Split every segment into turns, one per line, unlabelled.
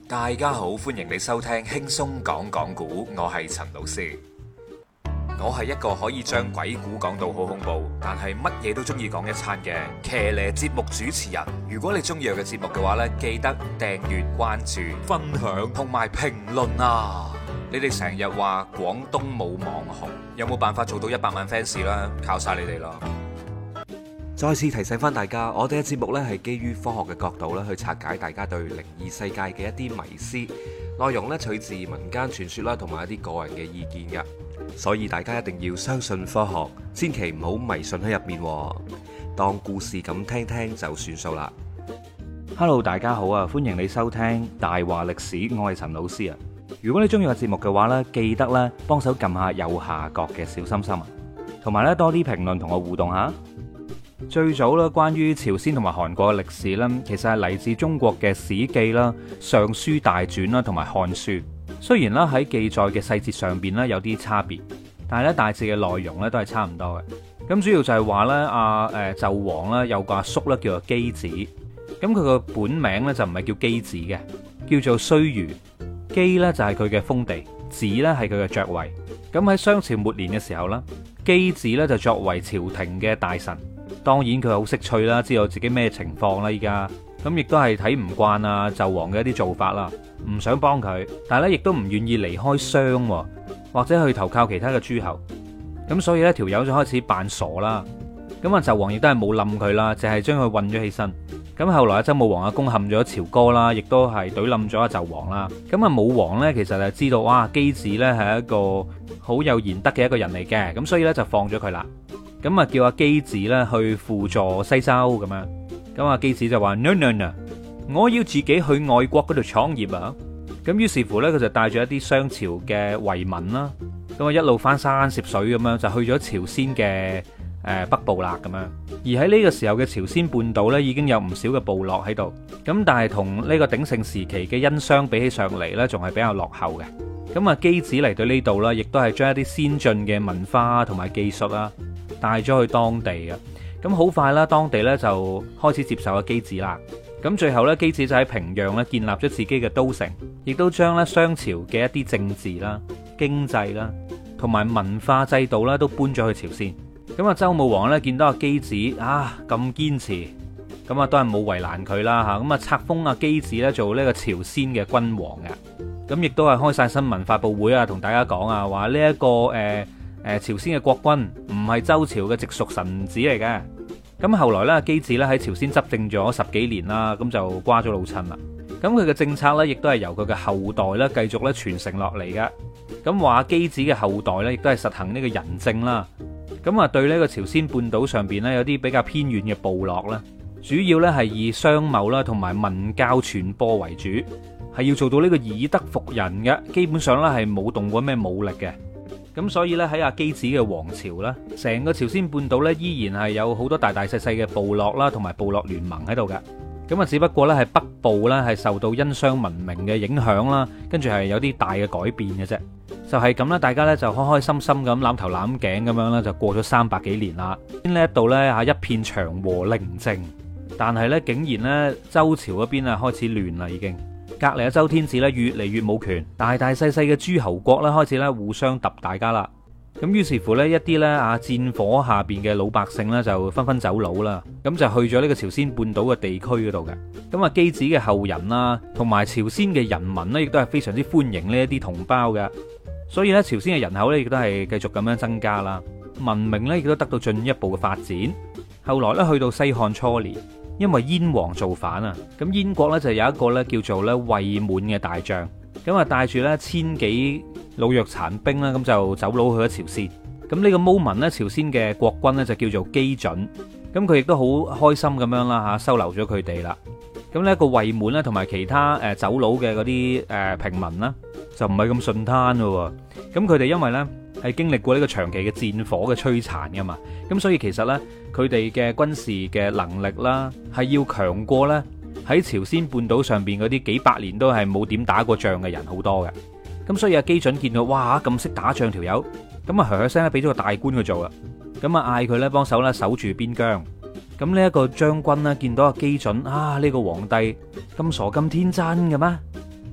大家好，歡迎你收聽輕鬆講講古，我係陳老師。我係一個可以將鬼故講到好恐怖，但係乜嘢都中意講一餐嘅騎呢節目主持人。如果你中意我嘅節目嘅話呢，記得訂閱、關注、分享同埋評論啊！你哋成日話廣東冇網紅，有冇辦法做到100萬 fans 啦？靠晒你哋咯！再次提醒翻大家，我哋嘅節目呢係基於科學嘅角度咧去拆解大家對靈異世界嘅一啲迷思，內容呢取自民間傳說啦，同埋一啲個人嘅意見嘅，所以大家一定要相信科學，千祈唔好迷信喺入面，當故事咁聽聽就算數啦。
Hello， 大家好啊，歡迎你收聽大話歷史，我係陳老師啊。如果你中意個節目嘅話呢，記得咧幫手撳下右下角嘅小心心啊，同埋咧多啲評論同我互動下。最早咧關於朝鮮同埋韓國嘅歷史咧，其實係嚟自中國嘅《史記》啦、《尚書大傳》啦同埋《漢書》。雖然咧喺記載嘅細節上邊咧有啲差別，但係咧大致嘅內容咧都係差唔多嘅。咁主要就係話咧紂王啦有個阿叔咧叫做箕子，咁佢個本名咧就唔係叫箕子嘅，叫做胥餘。箕咧就係佢嘅封地，子咧係佢嘅爵位。咁喺商朝末年嘅時候啦，箕子咧就作為朝廷嘅大臣。當然佢好識趣啦，知道自己咩情況啦依家，咁亦都係睇唔慣啊紂王嘅一啲做法啦，唔想幫佢，但係咧亦都唔願意離開商，或者去投靠其他嘅諸侯，咁所以呢條友就開始扮傻啦。咁啊紂王亦都係冇冧佢啦，淨係將佢韞咗起身。咁後來啊周武王啊攻陷咗朝歌啦，亦都係懟冧咗阿紂王啦。咁啊武王呢，其實就知道哇箕子呢係一個好有賢德嘅一個人嚟嘅，咁所以呢，就放咗佢啦。咁啊叫阿箕子咧去輔助西周咁樣，咁阿箕子就話 no， 我要自己去外國嗰度創業啊！咁於是乎咧，佢就帶住一啲商朝嘅遺民啦，咁啊一路翻山涉水咁樣就去咗朝鮮嘅北部啦咁樣。而喺呢個時候嘅朝鮮半島咧，已經有唔少嘅部落喺度，咁但係同呢個鼎盛時期嘅殷商比起上嚟咧，仲係比較落後嘅。咁啊箕子嚟到呢度啦，亦都係將一啲先進嘅文化同埋技術啦帶咗去當地嘅，咁好快啦，當地咧就開始接受阿箕子啦。咁最後咧，箕子就喺平壤咧建立咗自己嘅都城，亦都將咧商朝嘅一啲政治啦、經濟啦同埋文化制度啦都搬咗去朝鮮。咁啊周武王咧見到阿箕子啊咁堅持，咁啊都係冇為難佢啦吓，咁啊冊封阿箕子咧做呢個朝鮮嘅君王嘅，咁亦都係開晒新聞發佈會啊，同大家講啊，話呢一個朝鮮嘅國君唔係周朝嘅直屬臣子嚟嘅。咁後來咧，箕子咧喺朝鮮執政咗10幾年啦，咁就瓜咗老襯啦。咁佢嘅政策咧，亦都係由佢嘅後代咧繼續咧傳承落嚟嘅。咁話箕子嘅後代咧，亦都係實行呢個仁政啦。咁啊，對呢個朝鮮半島上邊咧有啲比較偏遠嘅部落咧，主要咧係以商貿啦同埋文教傳播為主，係要做到呢個以德服人嘅。基本上咧係冇動過咩武力嘅。咁所以咧喺阿箕子嘅王朝咧，成個朝鮮半島咧依然係有好多大大細細嘅部落啦，同埋部落聯盟喺度嘅。咁啊，只不過咧係北部咧係受到殷商文明嘅影響啦，跟住係有啲大嘅改變嘅啫。就係咁啦，大家咧就開開心心咁攬頭攬頸咁樣咧，就過咗300幾年啦。呢一度咧嚇一片祥和寧靜，但係咧竟然咧周朝嗰邊啊開始亂啦已經。隔籬嘅周天子咧越嚟越冇權，大大細細嘅諸侯國咧開始咧互相揼大家啦。咁於是乎呢，一啲咧戰火下邊嘅老百姓咧就紛紛走佬啦，咁就去咗呢個朝鮮半島嘅地區嗰度嘅。咁啊箕子嘅後人啦，同埋朝鮮嘅人民呢，亦都係非常之歡迎呢一啲同胞嘅。所以咧朝鮮嘅人口咧亦都係繼續咁樣增加啦，文明咧亦都得到進一步嘅發展。後來咧去到西漢初年，因為燕王造反啊，咁燕國咧就有一個咧叫做咧衛滿嘅大將，咁啊帶住咧1000幾老弱殘兵啦，咁就走佬去咗朝鮮。咁呢個 moment 咧，朝鮮嘅國君咧就叫做箕準，咁佢亦都好開心咁樣啦吓，收留咗佢哋啦。咁呢一個衛滿咧，同埋其他走佬嘅嗰啲平民啦，就唔係咁順攤咯。咁佢哋因為咧係經歷過呢個長期嘅戰火嘅摧殘噶嘛，咁所以其實咧佢哋嘅軍事嘅能力啦，係要強過咧喺朝鮮半島上邊嗰啲幾百年都係冇點打過仗嘅人好多嘅。咁所以阿箕準見到哇咁識打仗條友，咁啊噓聲咧俾咗個大官佢做啦，咁啊嗌佢咧幫手咧守住邊疆。咁呢一個將軍咧見到阿箕準啊，呢個皇帝咁傻咁天真嘅咩？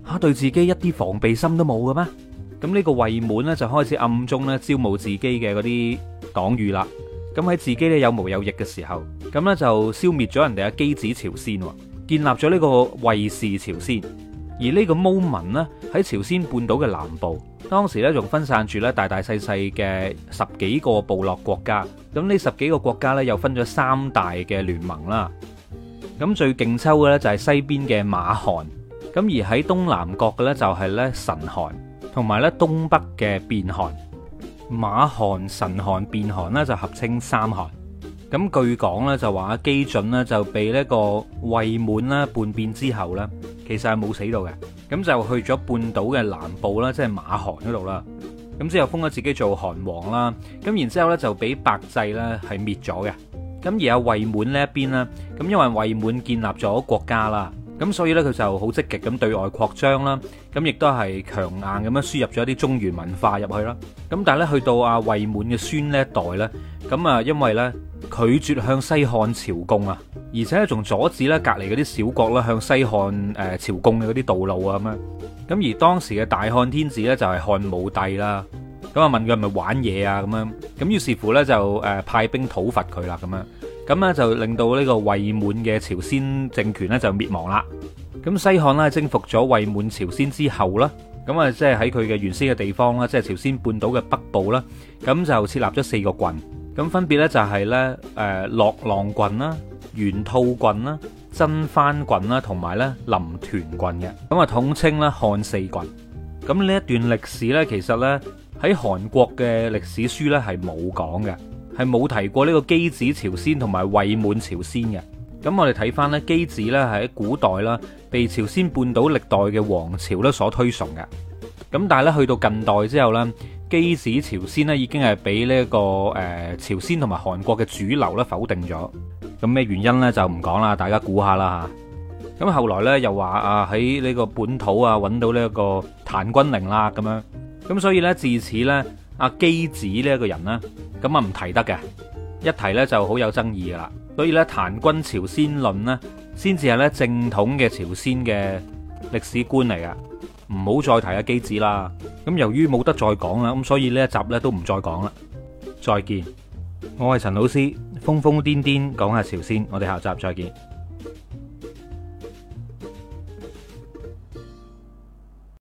嚇對自己一啲防備心都冇嘅咩？咁呢個衛滿呢，就開始暗中咧招募自己嘅嗰啲黨羽啦。咁喺自己咧有毛有翼嘅時候，咁呢就消滅咗人哋嘅箕子朝鮮，建立咗呢個衛氏朝鮮。而呢個毛民呢，喺朝鮮半島嘅南部，當時咧仲分散住咧大大細細嘅10幾個部落國家。咁呢10幾個國家咧又分咗3大嘅聯盟啦。咁最勁抽嘅咧就係西邊嘅馬韓，咁而喺東南角嘅咧就係咧辰韓，同埋咧東北嘅弁韓。馬韓、辰韓、弁韓呢就合稱三韓。咁據講咧就話箕準呢就被呢個衛滿啦叛變之後咧，其實係冇死到嘅，咁就去咗半島嘅南部啦，即係馬韓嗰度啦。咁之後封咗自己做韓王啦，咁然之後咧就俾百濟咧係滅咗嘅。咁而阿衛滿呢一邊咧，咁因為衛滿建立咗國家啦，咁所以咧佢就好積極咁對外擴張啦，咁亦都係強硬咁樣輸入咗一啲中原文化入去啦。咁但係咧去到阿衛滿嘅孫呢一代咧，咁啊因為咧拒絕向西漢朝貢啊，而且仲阻止咧隔離嗰啲小國啦向西漢朝貢嘅嗰啲道路啊咁樣。咁而當時嘅大漢天子咧就係漢武帝啦，咁啊問佢係咪玩嘢啊咁樣，咁於是乎咧就派兵討伐佢啦咁樣，咁咧就令到呢個衛滿嘅朝鮮政權咧就滅亡啦。咁西漢咧征服咗衛滿朝鮮之後啦，咁啊即係喺佢嘅原先嘅地方啦，即係朝鮮半島嘅北部啦，咁就設立咗4個郡，咁分別咧就係咧樂浪郡啦、玄菟郡啦、真番郡啦，同埋咧臨屯郡嘅，咁啊統稱咧漢四郡。咁呢一段歷史咧，其實咧喺韓國嘅歷史書咧係冇講嘅，係冇提過呢個箕子朝鮮同埋衛滿朝鮮嘅。咁我哋睇翻咧箕子咧係喺古代啦，被朝鮮半島歷代嘅王朝咧所推崇嘅。咁但係咧去到近代之後咧，箕子朝鮮咧已經係俾呢個朝鮮同埋韓國嘅主流咧否定咗。咁咩原因咧就唔講啦，大家估下啦吓。咁後來咧又話啊喺呢個本土啊揾到呢一個檀君陵啦咁樣。咁所以咧自此咧阿箕子呢一個人咧咁啊唔提得嘅，一提咧就好有爭議噶啦。所以咧檀君朝鮮論呢，先至係咧正統嘅朝鮮嘅歷史觀嚟噶，唔好再提阿箕子啦。咁由於冇得再講啦，咁所以呢一集咧都唔再講啦。再見，我係陳老師，瘋瘋癲癲講下朝鮮，我哋下集再見。